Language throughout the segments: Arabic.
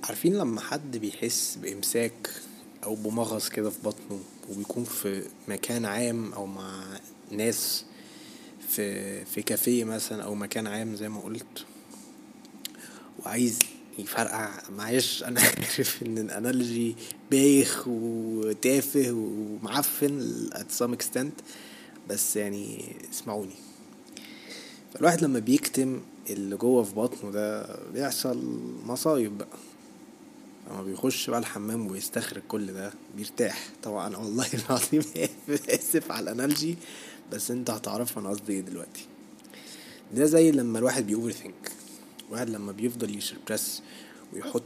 عارفين لما حد بيحس بإمساك أو بمغص كده في بطنه وبيكون في مكان عام أو مع ناس في كافيه مثلا أو مكان عام زي ما قلت وعايز يفرقع. معلش أنا عارف إن الأنالوجي بايخ وتافه ومعفن at some extent، بس يعني اسمعوني. فالواحد لما بيكتم اللي جوه في بطنه ده بيحصل مصايب بقى. لما بيخش بقى الحمام ويستخرج كل ده بيرتاح طبعا. والله العظيم اسف على الانالجي، بس انت هتعرف انا قصدي ايه دلوقتي. ده زي لما الواحد بيوفر ثينك، الواحد لما بيفضل يسبرس ويحط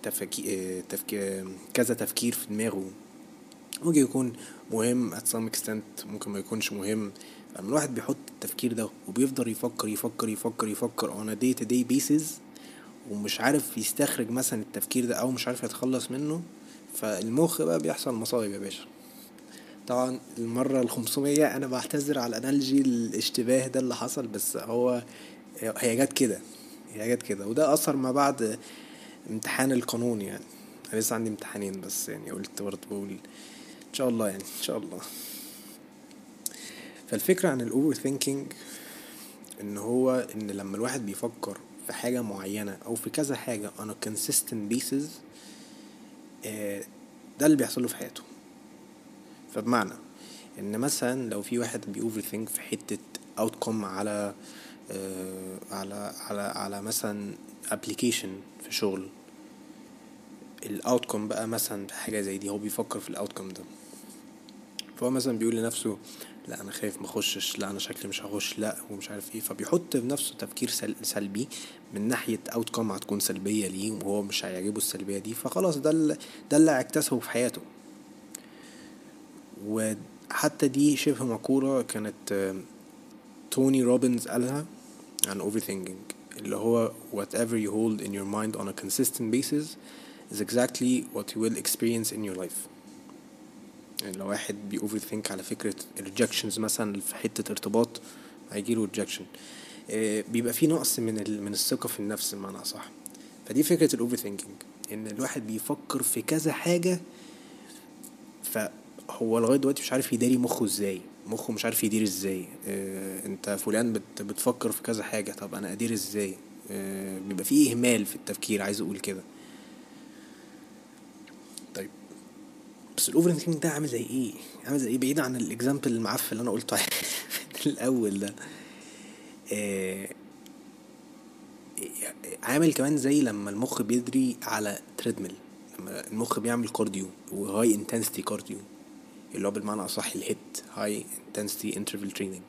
كذا تفكير في دماغه. ممكن يكون مهم at some extent، ممكن ما يكونش مهم. لما الواحد بيحط التفكير ده وبيفضل يفكر يفكر يفكر يفكر on a day to day basis ومش عارف يستخرج مثلا التفكير ده او مش عارف يتخلص منه، فالمخ بقى بيحصل مصايب يا باشا. طبعا المرة ال500 انا بعتذر على الانالجي الاشتباه ده اللي حصل، بس هي جت كده، هي جت كده. وده اثر ما بعد امتحان القانون يعني. انا لسه عندي امتحانين بس يعني قلت برضه بقول ان شاء الله، يعني ان شاء الله. فالفكرة عن الاوفر ثينكينج ان هو ان لما الواحد بيفكر في حاجة معينة او في كذا حاجة on a consistent basis، ده اللي بيحصل له في حياته. فبمعنى ان مثلا لو في واحد بيوفر ثينك في حتة outcome على على مثلا application في شغل، الاوتكم بقى مثلا في حاجة زي دي هو بيفكر في الاوتكم ده. فهو مثلا بيقول لنفسه لا انا خايف مخشش، لا انا شكلي مش هخش، لا ومش عارف ايه. فبيحط في نفسه تفكير سلبي من ناحية اوتكم هتكون سلبية ليه وهو مش هيعجبه السلبية دي. فخلاص ده اللي هيكتسبه في حياته. وحتى دي شبه مقولة كانت توني روبنز قالها عن overthinking، اللي هو whatever you hold in your mind on a consistent basis is exactly what you will experience in your life. يعني لو واحد بي overthink على فكرة rejections مثلا في حتة ارتباط هيجيله rejection، بيبقى فيه نقص من الثقة في النفس بمعنى أصح. فدي فكرة overthinking، ان الواحد بيفكر في كذا حاجة فهو لغاية دلوقتي مش عارف يداري مخه ازاي، مخه مش عارف يدير ازاي. انت فلان بتفكر في كذا حاجة، طب انا ادير ازاي؟ بيبقى فيه اهمال في التفكير، عايز اقول كده. طيب بس الاوفر ثينكينج ده عامل زي ايه؟ عامل زي ايه بعيد عن الاكزامبل المعفن اللي انا قلته الاول ده؟ آه عامل كمان زي لما المخ بيدري على تريدميل، لما المخ بيعمل كارديو وهاي انتنسيتي كارديو، اللي هو بالمعنى اصح الهيت هاي انتنسيتي انترفال تريننج.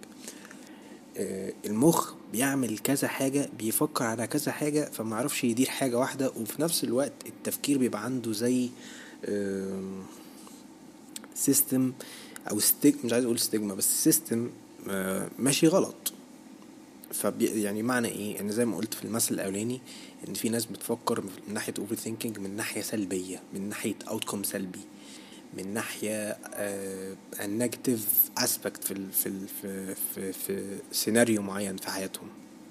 المخ بيعمل كذا حاجة، بيفكر على كذا حاجة، فما عرفش يدير حاجة واحدة. وفي نفس الوقت التفكير بيبقى عنده زي سيستم او مش عايز اقول ستيجما، بس سيستم ماشي غلط. يعني معنى ايه؟ ان زي ما قلت في المثل الاولاني ان في ناس بتفكر من ناحية اوفر ثينكينج من ناحية سلبية، من ناحية اوتكم سلبي، من ناحية النيجاتيف اسبكت في سيناريو معين في حياتهم.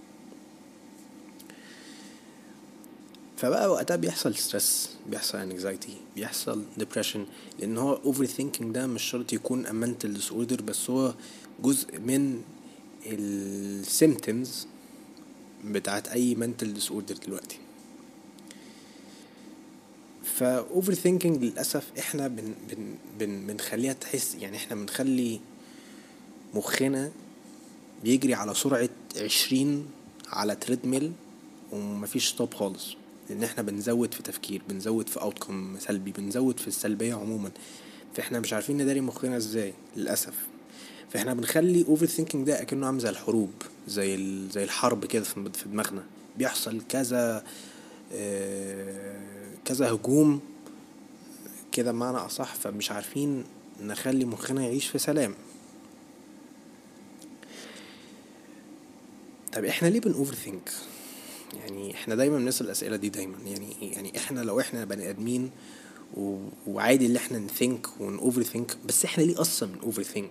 فبقى وقتها بيحصل ستريس، بيحصل انكزايتي، بيحصل ديبريشن. لان هو اوفر ثينكينج ده مش شرط يكون a mental disorder، بس هو جزء من السيمتومز بتاعت اي mental disorder دلوقتي. فاوفر ثينكينج للاسف احنا بنخليها تحس، يعني احنا بنخلي مخنا بيجري على سرعة 20 على تريدميل ومفيش ستوب خالص. لان احنا بنزود في تفكير، بنزود في اوتكم سلبي، بنزود في السلبية عموما. فاحنا مش عارفين نداري مخنا ازاي للاسف. فاحنا بنخلي اوفر ثينكينج ده اكنه عامل زي الحروب، زي الحرب كده في دماغنا. بيحصل كذا هجوم كده بمعنى اصح، فمش عارفين نخلي مخنا يعيش في سلام. طب احنا ليه بنوفر ثينك؟ يعني احنا دايما بنسأل الاسئله دي دايما. يعني احنا لو احنا بني ادمين وعادي اللي احنا نثينك ونوفر ثينك، بس احنا ليه اصلا من اوفر ثينك؟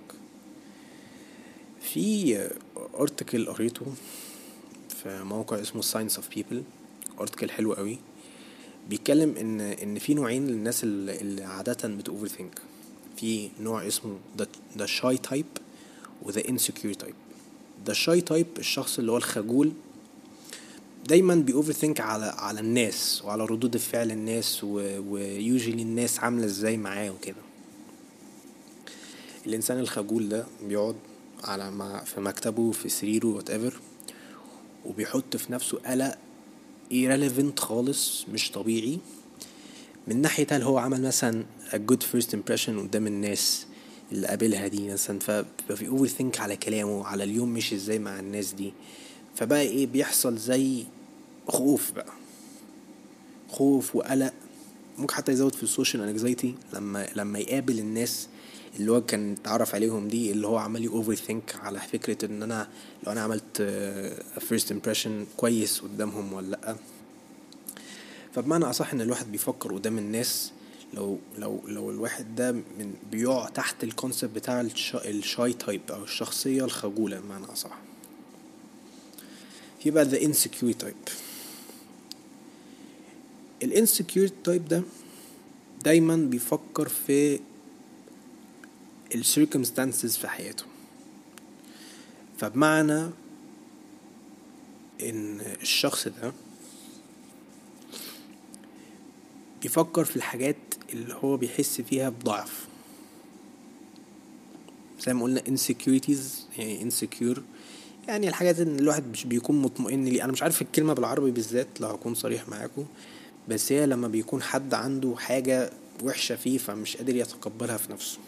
في ارتكل قريته في موقع اسمه Science of People، ارتكل حلو قوي. بيتكلم ان في نوعين للناس اللي عادة بتوفر ثينك. في نوع اسمه ده شاي تايب وذا انسكيور تايب. ده الشاي تايب الشخص اللي هو الخجول، دايما بيوفر ثينك على الناس وعلى ردود فعل الناس ويوجولي الناس عاملة ازاي معاه وكده. الانسان الخجول ده بيقعد في مكتبه في سريره whatever، وبيحط في نفسه قلق irrelevant خالص مش طبيعي، من ناحية هل هو عمل مثلا a good first impression قدام الناس اللي قابلها دي مثلا، فبي اوفر ثينك على كلامه، على اليوم مش ازاي مع الناس دي. فبقى ايه بيحصل؟ زي خوف بقى، خوف وقلق. ممكن حتى يزود في السوشيال انكزايتي لما يقابل الناس اللي هو كان اتعرف عليهم دي، اللي هو عمال اوفر ثينك على فكرة ان انا لو انا عملت first impression كويس قدامهم ولا لا. فبمعنى اصح ان الواحد بيفكر قدام الناس، لو الواحد ده بيقع تحت الكونسيبت بتاع الشاي تايب او الشخصية الخجولة بمعنى اصح. في بقى the insecure type. الانسكيور تايب ده دايما بيفكر في السيركمستانسز في حياته. فبمعنى ان الشخص ده بيفكر في الحاجات اللي هو بيحس فيها بضعف، زي ما قلنا insecurities، يعني insecure يعني الحاجات ان الواحد مش بيكون مطمئن ليه. انا مش عارف الكلمة بالعربي بالذات لو هكون صريح معاكم، بس هي لما بيكون حد عنده حاجة وحشة فيه فمش قادر يتقبلها في نفسه.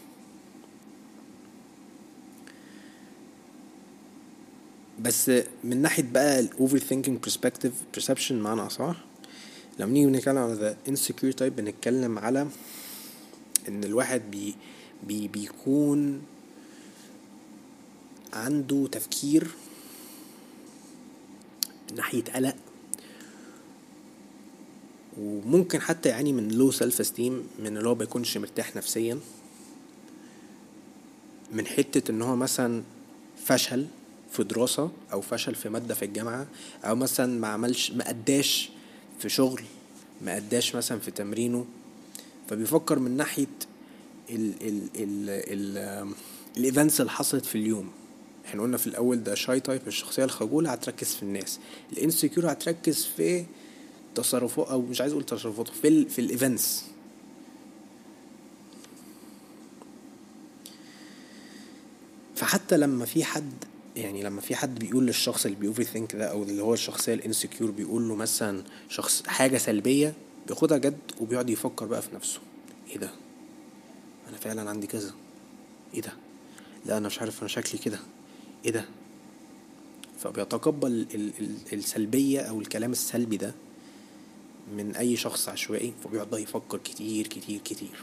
بس من ناحية بقى ال overthinking perception معنى أصح، لما نيجي بنتكلم على the insecure type بنتكلم على إن الواحد بيكون عنده تفكير من ناحية قلق، وممكن حتى يعني من low self esteem، من اللي هو بيكونش مرتاح نفسيا، من حتة إن هو مثلا فشل في دراسة أو فشل في مادة في الجامعة، أو مثلا ما أداش في شغل، ما أداش مثلا في تمرينه. فبيفكر من ناحية ال ال ال ال الايفنتس اللي حصلت في اليوم. احنا قلنا في الاول ده شاي تايب الشخصية الخجولة هتركز في الناس، الانسكيور هتركز في تصرفات، او مش عايز اقول تصرفات، في الايفنتس. فحتى لما في حد بيقول للشخص اللي بيوفر ثينك ده، او اللي هو الشخصيه الانسكيور، بيقول له مثلا حاجه سلبيه، بياخدها جد وبيقعد يفكر بقى في نفسه، ايه ده، انا فعلا عندي كذا، ايه ده، لا انا مش عارف انا شكلي كده، ايه ده. فبيتقبل السلبيه او الكلام السلبي ده من اي شخص عشوائي، فبيقعد بقى يفكر كتير كتير كتير.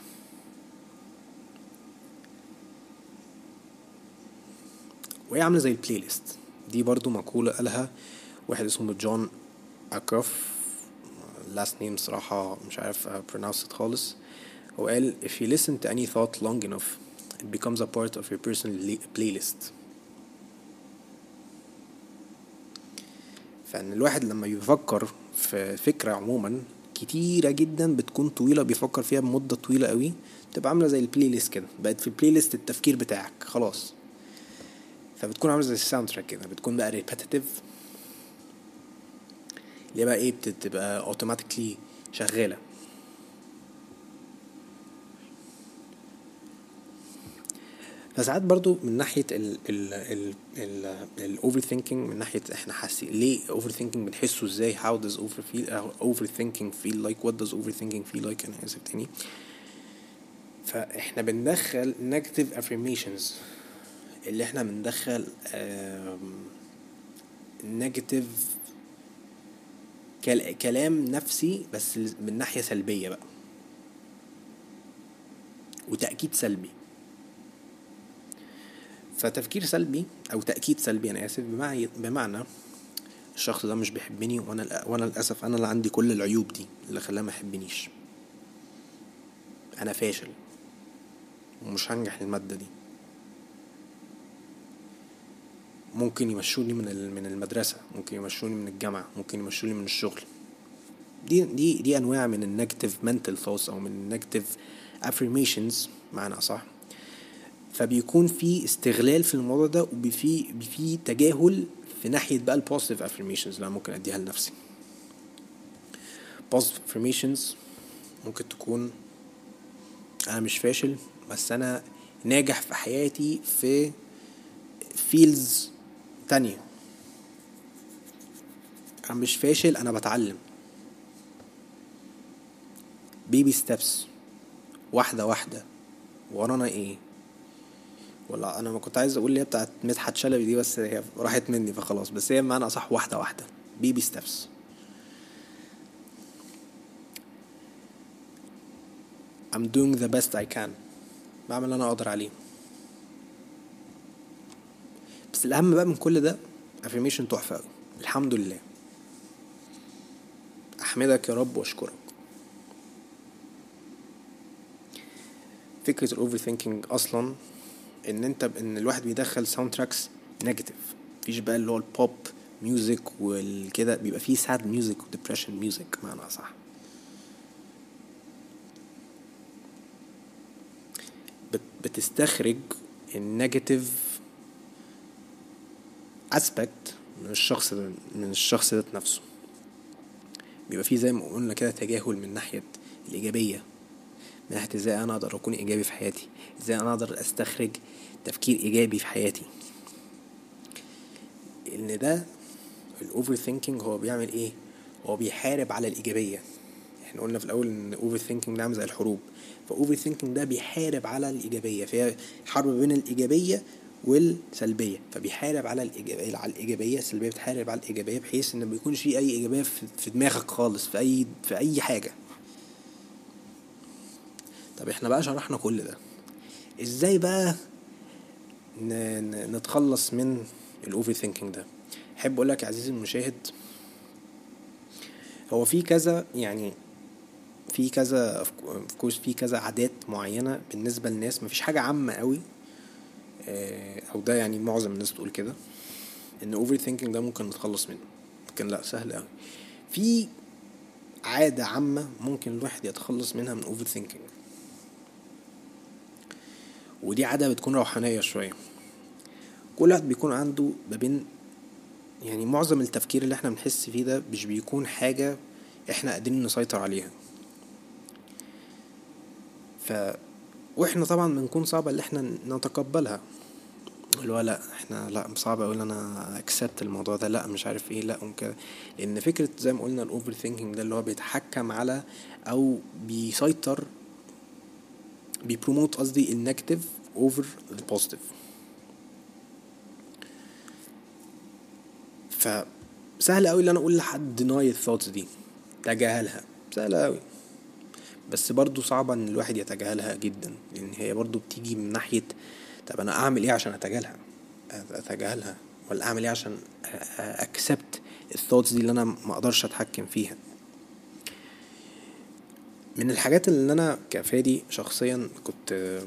وهي عامله زي البلاي ليست. دي برضو مقوله قالها واحد اسمه جون أكروف، last name صراحة مش عارف pronounce it خالص. هو قال if you listen to any thought long enough it becomes a part of your personal playlist. فإن الواحد لما يفكر في فكرة عموما كتيرة جدا بتكون طويلة، بيفكر فيها بمدة طويلة قوي، تبقى عاملة زي البلاي ليست كده، بقت في البلاي ليست التفكير بتاعك خلاص. فبتكون عاملة زي الساوند تراك كده، بتكون بقى repetitive، اللي بقى ايه بتبقى automatically شغالة. فساعات برضو من ناحية ال overthinking، من ناحية احنا حاسين ليه overthinking، بنحسه ازاي، how does overthinking feel like, what does overthinking feel like. انا اسف تاني. فاحنا بندخل negative affirmations، اللي احنا بندخل negative كلام نفسي بس من ناحية سلبية بقى، وتأكيد سلبي. فتفكير سلبي او تأكيد سلبي انا اسف، بمعنى الشخص ده مش بيحبني، وانا للاسف انا اللي عندي كل العيوب دي اللي خلاه ما يحبنيش، انا فاشل ومش هنجح المادة دي، ممكن يمشوني من المدرسة، ممكن يمشوني من الجامعة، ممكن يمشوني من الشغل. دي انواع من النيجاتيف mental thoughts او من النيجاتيف affirmations معنى صح. فبيكون في استغلال في الموضوع ده، وفي تجاهل في ناحية بقى البوزيتيف affirmations اللي أنا ممكن اديها لنفسي. positive affirmations ممكن تكون انا مش فاشل، بس انا ناجح في حياتي في فيلز تانية. انا مش فاشل، انا بتعلم. بيبي ستيبس، واحدة واحدة. ورانا ايه؟ ولا انا ما كنت عايز اقول اللي هي بتاعت مدحت شلبي دي، بس هي راحت مني فخلاص. بس هي معنى اصح واحدة واحدة، بيبي ستيبس. I'm doing the best I can، بعمل اللي انا اقدر عليه. بس الاهم بقى من كل ده affirmation تحفة قوي، الحمد لله. احمدك يا رب واشكرك. فكرة الاوفر ثينكينج اصلا ان الواحد بيدخل ساوند تراكس نيجاتيف. مفيش بقى اللي هو البوب ميوزك والكده، بيبقى فيه ساد ميوزك وديبريشن ميوزك معنى صح. بتستخرج النيجاتيف اسبكت من الشخص ذات نفسه. بيبقى فيه زي ما قلنا كده تجاهل من ناحية الإيجابية، من ناحية ازاي انا اقدر اكون ايجابي في حياتي، ازاي انا اقدر استخرج تفكير ايجابي في حياتي. ان ده الاوفر ثينكينج هو بيعمل ايه؟ هو بيحارب على الايجابية. احنا قلنا في الاول ان اوفر ثينكينج ده عامل زي الحروب، فاوفر ثينكينج ده بيحارب على الايجابية، فهي حرب بين الايجابية والسلبية. فبيحارب على الايجابية، السلبية بتحارب على الايجابية، بحيث ان ما بيكونش في اي ايجابية في دماغك خالص في اي حاجة. طب احنا بقى شرحنا كل ده، ازاي بقى نتخلص من الاوفر ثينكينج ده؟ احب اقول لك يا عزيزي المشاهد، هو في كذا يعني في كذا في كذا عادات معينه بالنسبه للناس، مفيش حاجه عامه قوي. او ده يعني معظم الناس تقول كده ان اوفر ثينكينج ده ممكن نتخلص منه، لكن لا، سهل قوي. في عاده عامه ممكن الواحد يتخلص منها من اوفر ثينكينج، ودي عاده بتكون روحانيه شويه. كل واحد بيكون عنده ما بين، يعني معظم التفكير اللي احنا بنحس فيه ده مش بيكون حاجة احنا قادرين نسيطر عليها. واحنا طبعا بنكون صعبة اللي احنا نتقبلها، اللي هو لا احنا لا صعب اقول انا اكسبت الموضوع ده، لا مش عارف ايه، لا وكده. لان فكرة زي ما قلنا الاوفر ثينكينج ده اللي هو بيتحكم على او بيسيطر، بيبروموت قصدي النيجاتيف اوفر البوزيتيف. فسهل قوي اللي انا اقول لحد deny الثوتس دي، تجاهلها، سهلة قوي. بس برضو صعبة ان الواحد يتجاهلها جدا، لان هي برضو بتيجي من ناحية طب انا اعمل ايه عشان اتجاهلها، ولا اعمل ايه عشان اكسبت الثوتس دي اللي انا ما اقدرش اتحكم فيها. من الحاجات اللي انا كفادي شخصيا كنت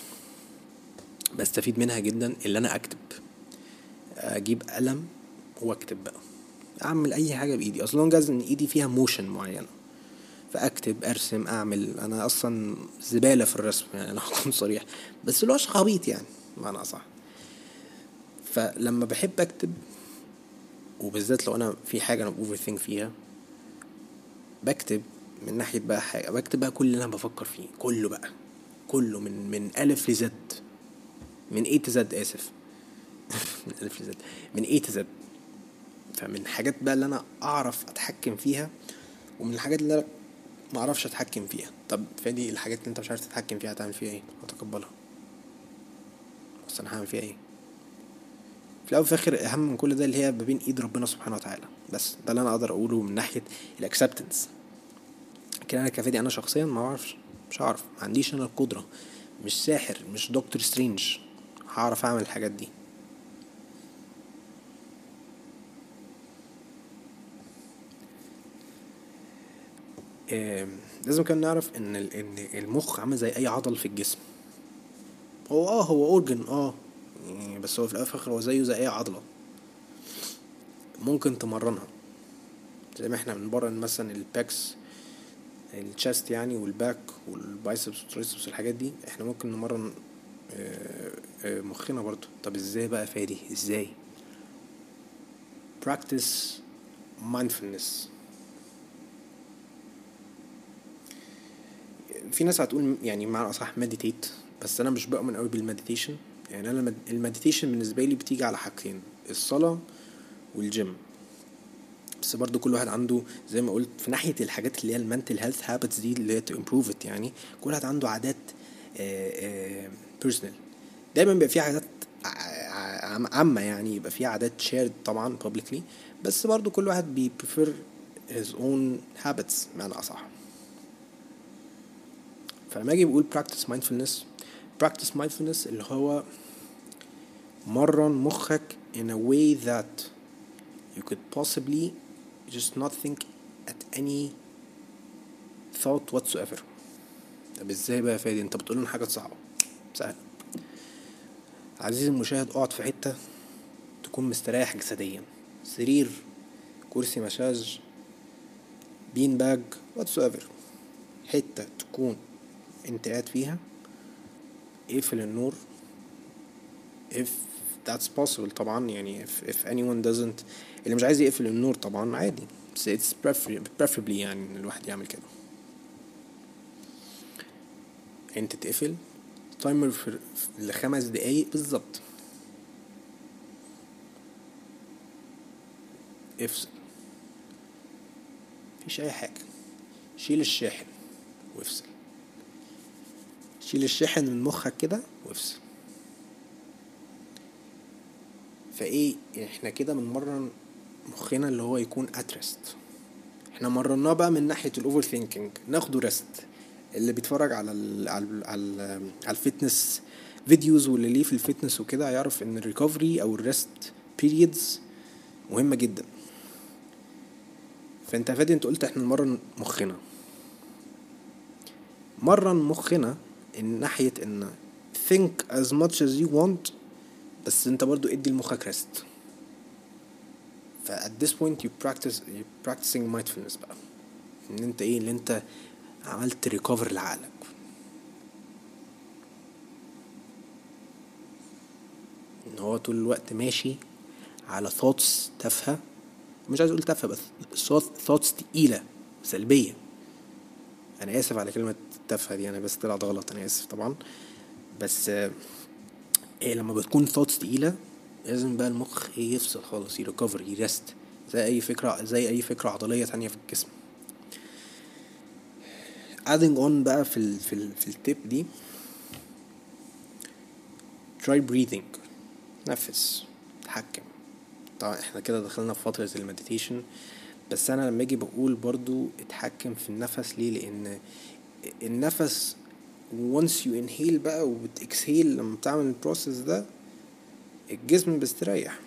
بستفيد منها جدا، اللي انا اكتب، اجيب قلم واكتب بقى، اعمل اي حاجة بايدي، اصلا جاز ان ايدي فيها موشن معينة، فاكتب ارسم اعمل. انا اصلا زبالة في الرسم يعني، انا هكون صريح، بس لوش خبيط يعني معنى صح. فلما بحب اكتب، وبالذات لو انا في حاجة انا اوفر ثينك فيها، بكتب من ناحية بقى حاجة، بكتب بقى كل اللي انا بفكر فيه كله بقى، كله من الف لزد، من A to Z اسف من الف لزد، من A to Z. فمن حاجات بقى اللي انا اعرف اتحكم فيها، ومن الحاجات اللي انا ما اعرفش اتحكم فيها. طب فادي الحاجات اللي انت مش عارف تتحكم فيها هتعمل فيها ايه؟ هتقبلها، بس انا هعمل فيها ايه؟ في الاول وفي الاخر اهم من كل ده اللي هي ما بين ايد ربنا سبحانه وتعالى. بس ده اللي انا اقدر اقوله من ناحيه الاكسبتنس. لكن انا كفادي انا شخصيا ما اعرفش، مش هعرف، ما عنديش انا القدره، مش ساحر، مش دكتور سترينج هعرف اعمل الحاجات دي. لازم كان نعرف ان المخ عامل زي اي عضل في الجسم. هو اورجن يعني، بس هو في الاول وفي الاخر هو زيه زي اي عضله، ممكن تمرنها. زي ما احنا بنمرن مثلا الباكس الشاست يعني والباك والبايسبس والترايسبس والحاجات دي، احنا ممكن نمرن مخنا برضو. طب ازاي بقى فادي؟ ازاي؟ practice mindfulness. في ناس هتقول يعني معنى اصح meditate، بس انا مش بؤمن قوي بالمديتيشن. يعني انا المديتيشن بالنسبه لي بتيجي على حاجتين، الصلاه والجيم. بس برضو كل واحد عنده زي ما قلت في ناحيه الحاجات اللي هي المنتل هيلث هابتس دي اللي هي تو امبروف ات، يعني كل واحد عنده عادات بيرسونال. دايما بيبقى في عادات عامه، يعني يبقى في عادات شيرد طبعا publicly، بس برضو كل واحد بي prefer his own habits معنى اصح. فلما اجي بقول practice mindfulness اللي هو مرن مخك in a way that you could possibly just not think at any thought whatsoever. طب ازاي بقى يا فادي؟ انت بتقول لنا حاجه صعبه. سهل. عزيزي المشاهد، اقعد في حته تكون مستريح جسديا، سرير، كرسي مساج، بين باج whatsoever، حته تكون انت قاعد فيها. اقفل النور if that's possible طبعا، يعني if anyone doesn't، اللي مش عايز يقفل النور طبعا عادي، بس it's preferably يعني ان الواحد يعمل كده. انت تقفل تايمر ل5 دقايق بالظبط، افصل، مفيش اي حاجة، شيل الشاحن وافصل، شيل الشاحن من مخك كده وافصل. فايه احنا كده بنمرن مخنا اللي هو يكون اترست. احنا مرناه بقى من ناحية الاوفر ثينكينج، ناخده ريست. اللي بيتفرج على على الفيتنس فيديوز واللي ليه في الفيتنس وكده هيعرف ان الريكفري او الريست بيريدز مهمة جدا. فانت فادي انت قلت احنا نمرن مخنا، مرن مخنا ان ناحية ان think as much as you want، بس انت برضو ادي لمخك rest. ف at this point you're practicing mindfulness بقى، ان انت ايه اللي انت عملت ريكفر لعقلك. ان هو طول الوقت ماشي على thoughts تافهة، مش عايز اقول تافهة بس thoughts تقيلة سلبية. انا اسف على كلمة تافهة دي، انا بس طلعت غلط، انا اسف طبعا. بس ايه لما بتكون thoughts تقيلة لازم بقى المخ يفصل خالص، يريكفر، يرست، زي اي فكرة عضلية تانية في الجسم. adding on بقى في التيب دي، try breathing، نفس، تحكم. طبعا احنا كده دخلنا في فترة المديتيشن، بس انا لما اجي بقول برضو اتحكم في النفس ليه؟ لان النفس once you inhale بقى وبتexhale، لما بتعمل البروسيس ده الجسم بيستريح.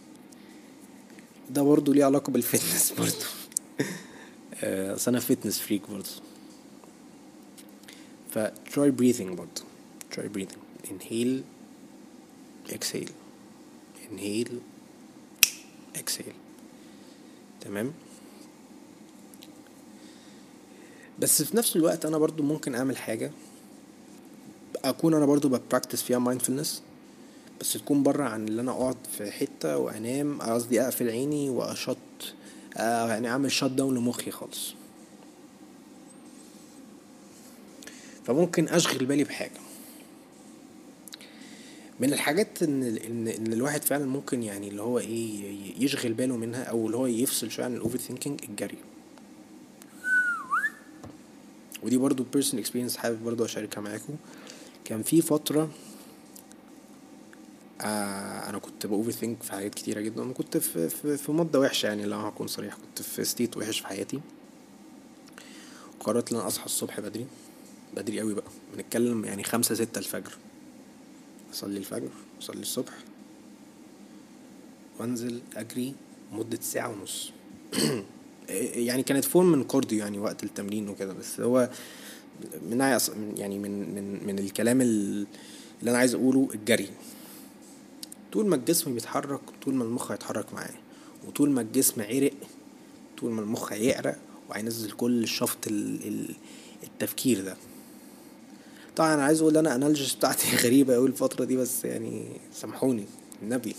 ده برضو ليه علاقة بالفتنس برضو. اصل انا فتنس فريك برضو. ف try breathing برضو، try breathing، inhale exhale، inhale exhale. تمام. بس في نفس الوقت انا برضو ممكن اعمل حاجة اكون انا برضو ببراكتس فيها mindfulness، بس تكون برا عن اللي انا اقعد في حتة وانام، قصدي اقفل عيني واشط، يعني اعمل شت داون لمخي خالص. فممكن اشغل بالي بحاجة من الحاجات ان الواحد فعلا ممكن يعني اللي هو ايه يشغل باله منها، او اللي هو يفصل شويه عن الاوفر ثينكينج، الجري. ودي برضو بيرسونال اكسبيرينس حابب برضو اشاركها معاكم. كان في فتره انا كنت باوفر ثينك في حاجات كتيره جدا، انا كنت في مده وحشه، يعني لو هكون صريح كنت في ستيت وحش في حياتي. قررت ان انا اصحى الصبح بدري، بدري قوي بقى، بنتكلم يعني 5-6 الفجر، اصلي الفجر، اصلي الصبح، وانزل اجري مدة ساعة ونص. يعني كانت فورم من كارديو يعني وقت التمرين وكده، بس هو يعني من الكلام اللي انا عايز اقوله، الجري طول ما الجسم بيتحرك طول ما المخ هيتحرك معاه، وطول ما الجسم عرق طول ما المخ هيعرق وهينزل كل الشفط التفكير ده. طبعا انا عايز اقول انا انالجيس بتاعتي غريبه قوي الفتره دي، بس يعني سامحوني النبي.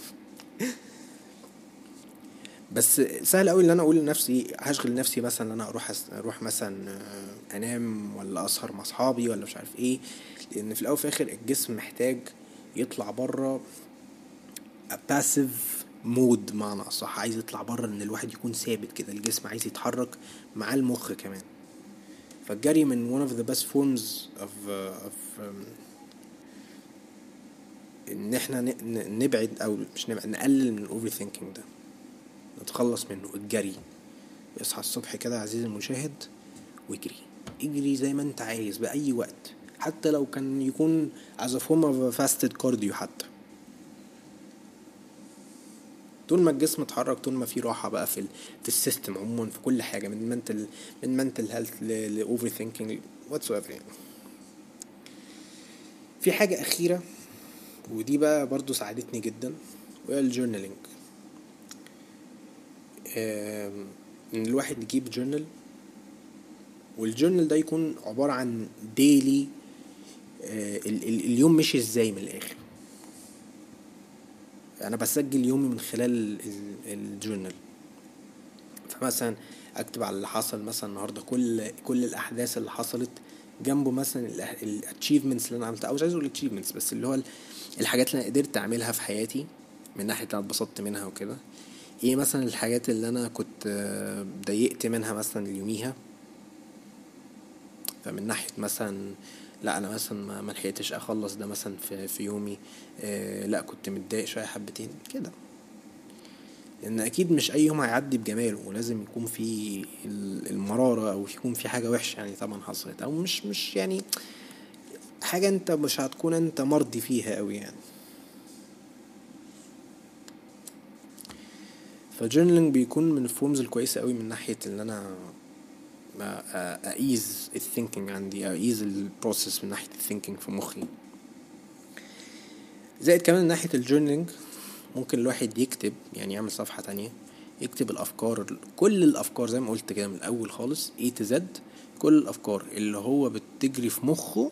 بس سهل قوي ان انا اقول لنفسي هشغل نفسي مثلا ان انا اروح مثلا انام ولا اسهر مع اصحابي ولا مش عارف ايه، لان في الاول وفي الاخر الجسم محتاج يطلع بره باسيف مود، معنى اصح عايز يطلع بره ان الواحد يكون ثابت كده، الجسم عايز يتحرك مع المخ كمان. فالجري من one of the best forms of ان احنا نبعد او مش نبعد، نقلل من الاوفر ثينكينج ده، نتخلص منه. الجري، اصحى الصبح كده يا عزيزي المشاهد واجري، اجري زي ما انت عايز بأي وقت، حتى لو كان يكون as a form of fasted cardio. حتى طول ما الجسم اتحرك، طول ما في راحة بقى في السيستم عموما، في كل حاجة، من mental health ل over thinking whatsoever يعني. في حاجة أخيرة ودي بقى برضو ساعدتني جدا، وهي الجورنالينج. ان الواحد يجيب جورنال، والجورنال ده يكون عبارة عن ديلي، اليوم مشي ازاي من الاخر. انا بسجل يومي من خلال الجورنال. فمثلا اكتب على اللي حصل مثلا النهارده، كل الاحداث اللي حصلت، جنبه مثلا الاتشيفمنتس اللي انا عملتها، او مش عايز اقول الاتشيفمنتس، بس اللي هو الحاجات اللي انا قدرت اعملها في حياتي من ناحيه انا اتبسطت منها وكده. ايه مثلا الحاجات اللي انا كنت ضايقت منها مثلا يوميها، فمن ناحيه مثلا لا انا مثلا ما لحقتش اخلص ده مثلا في يومي، لا كنت متضايق شويه حبتين كده. لان اكيد مش اي يوم هيعدي بجماله، ولازم يكون في المراره، او يكون في حاجه وحشه يعني طبعا حصلت، او مش يعني حاجه انت مش هتكون انت مرضي فيها قوي يعني. فالجورنالينج بيكون من الفورمز الكويسه قوي من ناحيه ان انا اقيز الثينكينج عندي، اقيز البروسيس من ناحيه الثينكينج في مخي. زائد كمان من ناحيه الجورنالينج ممكن الواحد يكتب، يعني يعمل صفحه تانية يكتب الافكار، كل الافكار زي ما قلت كده من الاول خالص A to Z، كل الافكار اللي هو بتجري في مخه،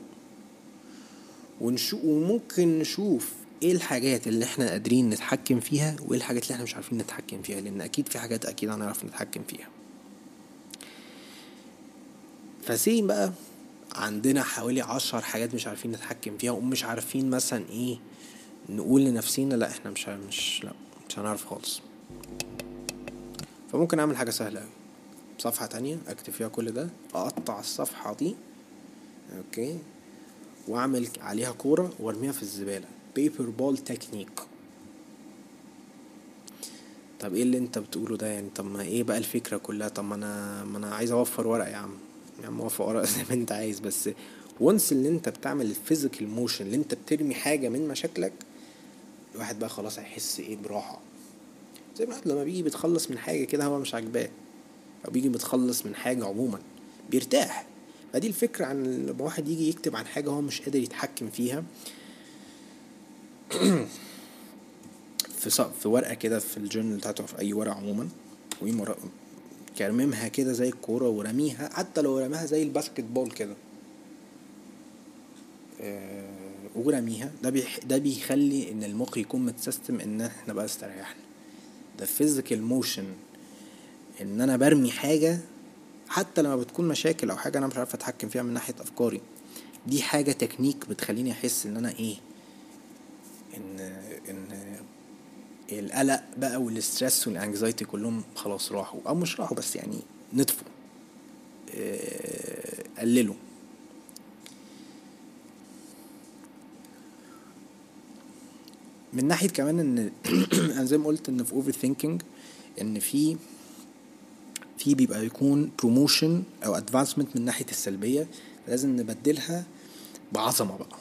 وممكن نشوف ايه الحاجات اللي احنا قادرين نتحكم فيها، وايه الحاجات اللي احنا مش عارفين نتحكم فيها، لان اكيد في حاجات اكيد هنعرف نتحكم فيها. فسين بقى عندنا حوالي 10 حاجات مش عارفين نتحكم فيها، ومش عارفين مثلا ايه نقول لنفسينا لا احنا مش هنعرف خالص. فممكن اعمل حاجة سهلة اوي، صفحة تانية اكتب فيها كل ده، اقطع الصفحة دي اوكي، واعمل عليها كورة وارميها في الزبالة، بيبر بول تكنيك. طب ايه اللي انت بتقوله ده يعني؟ طب ما ايه بقى الفكرة كلها؟ طب ما انا عايز اوفر ورق يا عم اوفر ورق زي ما انت عايز، بس وانس اللي انت بتعمل الفيزيكال موشن، اللي انت بترمي حاجة من مشاكلك، الواحد بقى خلاص هيحس ايه براحة. زي ما لما بيجي بيتخلص من حاجة كده هو مش عاجباه، او بيجي بيتخلص من حاجة عموما بيرتاح. فدي الفكرة عن لما واحد يجي يكتب عن حاجة هو مش قادر يتحكم فيها في ورقة كده، في الجورنال بتاعته، في اي ورقة عموما، كرممها كده زي الكورة ورميها، حتى لو رميها زي الباسكت بول كده ورميها. ده بيخلي ان المخ يكون متسيستم ان احنا بقى استريحنا. ده فيزيكال موشن، ان انا برمي حاجة حتى لما بتكون مشاكل او حاجة انا مش عارف اتحكم فيها من ناحية افكاري، دي حاجة تكنيك بتخليني احس ان انا ايه، ان القلق بقى والستريس والانكزايتي كلهم خلاص راحوا، او مش راحوا بس يعني نطفوا، قللوا. من ناحية كمان ان انا زي ما قلت ان في اوفر ثينكينج ان في بيبقى يكون بروموشن او ادفانسمنت من ناحية السلبية، لازم نبدلها بعظمة بقى.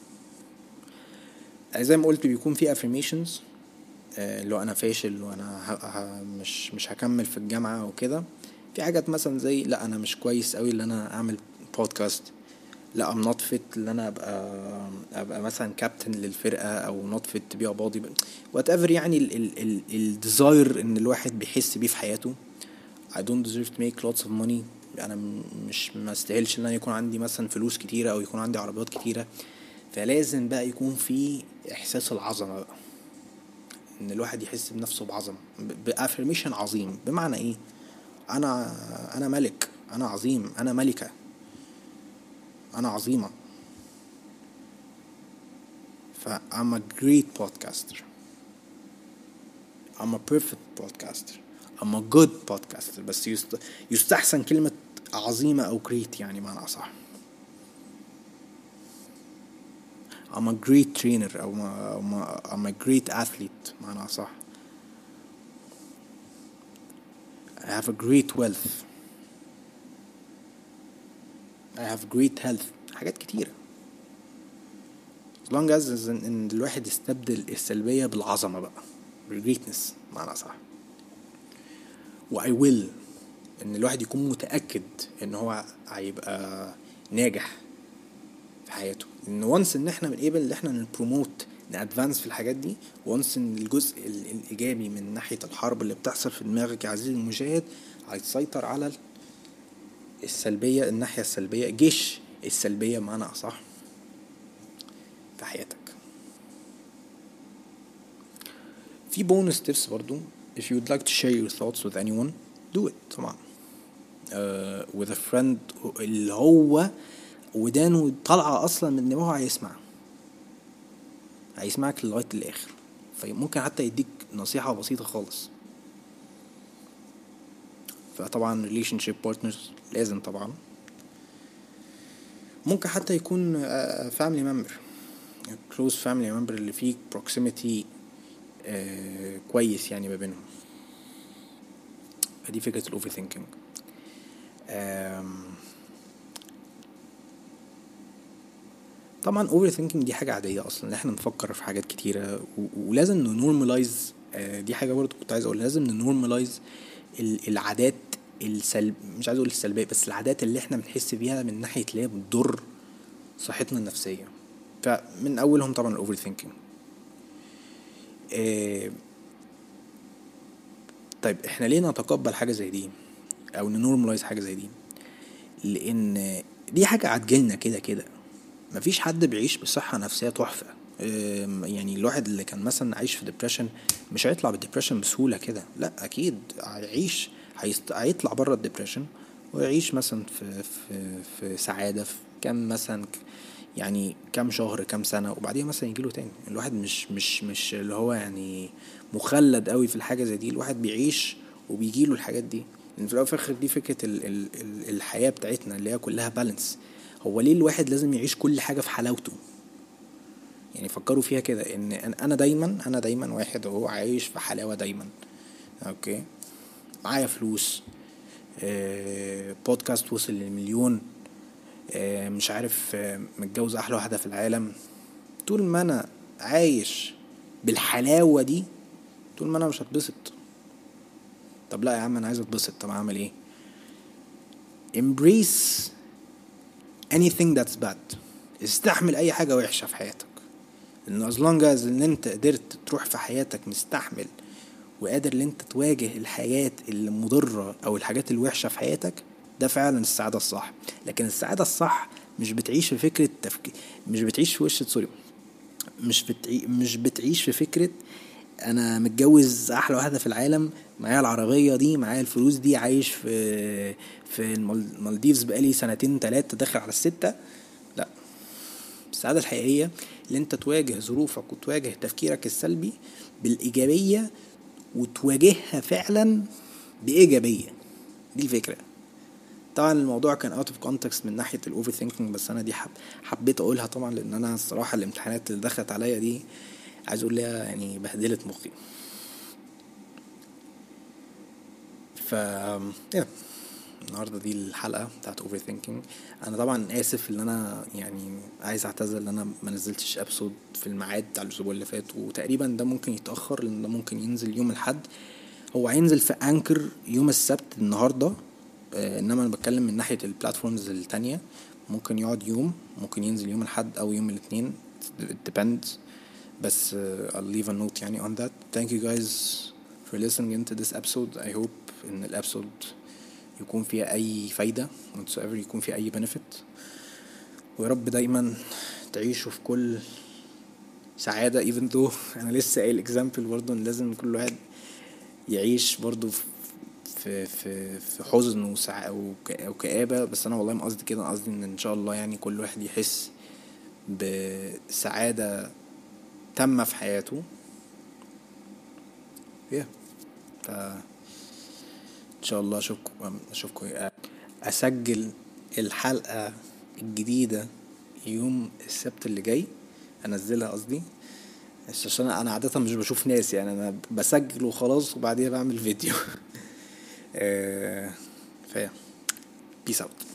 زي ما قلت بيكون في affirmations، لو انا فاشل وانا مش هكمل في الجامعة وكده. في حاجات مثلا زي لا انا مش كويس قوي اللي انا اعمل بودكاست، لا I'm not fit اللي انا ابقى مثلا كابتن للفرقة، او not fit to be a body whatever يعني الديزاير ان الواحد بيحس بيه في حياته. I don't deserve to make lots of money. انا مش ما استاهلش ان انا يكون عندي مثلا فلوس كتيره او يكون عندي عربيات كتيره. فلازم بقى يكون في احساس العظمه بقى، ان الواحد يحس بنفسه بعظمه، بافرميشن عظيم. بمعنى ايه؟ انا ملك، انا عظيم، انا ملكه، انا عظيمه. ف I'm a great podcaster, I'm a perfect podcaster, I'm a good podcaster. بس يستحسن كلمة عظيمة أو great، يعني معنى أصح. I'm a great trainer أو I'm a great athlete معنى أصح. I have a great wealth, I have great health. حاجات كتيرة. as long as إن الواحد يستبدل السلبية بالعظمة بقى، بالgreatness معنى أصح. و I will ان الواحد يكون متأكد ان هو هيبقى ناجح في حياته. ان وانس ان احنا بنقبل ان احنا نبروموت نادفانس في الحاجات دي، وانس ان الجزء الايجابي من ناحية الحرب اللي بتحصل في دماغك يا عزيزي المشاهد هيسيطر على السلبية، الناحية السلبية، جيش السلبية معنى اصح في حياتك. في بونس تيبس برضو. if you would like to share your thoughts with anyone, do it طبعا. with a friend اللي هو ودانه طالعة اصلا من دماغه هيسمعك لغاية الاخر. فممكن حتى يديك نصيحة بسيطة خالص. فطبعا relationship partners لازم طبعا. ممكن حتى يكون family member, close family member اللي فيه proximity كويس يعني ما بينهم. دي فكرة الاوفر ثينكينج. طبعا اوفر ثينكينج دي حاجة عادية اصلا، احنا نفكر في حاجات كتيرة ولازم نورمالايز. دي حاجة برضو كنت عايز اقول، لازم نورمالايز العادات مش عايز اقول السلبية، بس العادات اللي احنا بنحس بيها من ناحية اللي هي بتضر صحتنا النفسية. فمن اولهم طبعا الاوفر ثينكينج. طيب احنا ليه نتقبل حاجة زي دي او نورمالايز حاجة زي دي؟ لان دي حاجة عتجلنا كده كده. مفيش حد بيعيش بصحة نفسية تحفة. يعني الواحد اللي كان مثلا عايش في ديبريشن مش هيطلع بالديبريشن بسهولة كده، لا اكيد هيعيش، هيطلع بره الديبريشن ويعيش مثلا في سعادة في كام مثلا، يعني كام شهر كام سنة، وبعدين مثلا يجيله تاني. الواحد مش اللي هو يعني مخلد قوي في الحاجة زي دي. الواحد بيعيش وبيجيله الحاجات دي، لان في الاول وفي الاخر دي فكرة الحياة بتاعتنا اللي هي كلها بالانس. هو ليه الواحد لازم يعيش كل حاجة في حلاوته؟ يعني فكروا فيها كده، ان انا دايما واحد اهو عايش في حلاوة دايما. اوكي، معايا فلوس، بودكاست وصل للمليون، مش عارف، متجوز احلى واحدة في العالم. طول ما انا عايش بالحلاوة دي، طول ما انا مش هتبسط. طب لا يا عم انا عايز اتبسط، طب اعمل ايه؟ embrace anything that's bad. استحمل اي حاجة وحشة في حياتك، لأن as long as ان انت قدرت تروح في حياتك مستحمل وقادر ان انت تواجه الحياة المضرة او الحاجات الوحشة في حياتك، ده فعلا السعادة الصح. لكن السعادة الصح مش بتعيش في فكرة مش بتعيش في سوري، مش بتعيش في فكرة انا متجوز احلى واحدة في العالم، معايا العربية دي، معايا الفلوس دي، عايش في المالديفز بقالي 2-3 داخل على 6. لا، السعادة الحقيقية اللي انت تواجه ظروفك وتواجه تفكيرك السلبي بالإيجابية وتواجهها فعلا بإيجابية. دي الفكرة. طبعا الموضوع كان out of context من ناحية الأوفر ثينكينج، بس أنا دي حبيت أقولها طبعا، لأن أنا الصراحة الامتحانات اللي دخلت عليا دي عايز أقول لها يعني بهدلت مخي. النهاردة دي الحلقة بتاعت اوفر ثينكينج. انا طبعا اسف ان انا يعني عايز اعتذر ان انا ما نزلتش ابسود في الميعاد بتاع الاسبوع اللي فات، وتقريبا ده ممكن يتاخر لان ده ممكن ينزل يوم الاحد. هو هينزل في انكر يوم السبت النهارده، انما انا بتكلم من ناحيه البلاتفورمز التانية. ممكن يقعد يوم، ممكن ينزل يوم الاحد او يوم الاثنين، it depends. بس I'll leave a note يعني on that. Thank you guys for listening into this episode. I hope ان الابسود يكون فيها اي فايدة whatsoever، يكون فيها اي benefit. ويا رب دايما تعيشوا في كل سعادة even though انا لسه قايل example برضه ان لازم كل واحد يعيش برضه في حزن او كآبة. بس انا والله ما قصدي كده، أنا قصدي ان شاء الله يعني كل واحد يحس بسعادة تامة في حياته. yeah. ف ان شاء الله اشوفكم اسجل الحلقة الجديدة يوم السبت اللي جاي، انزلها قصدي. عشان انا عادة مش بشوف ناس يعني، انا بسجل وخلاص وبعديها بعمل فيديو. فيا بيس اوت.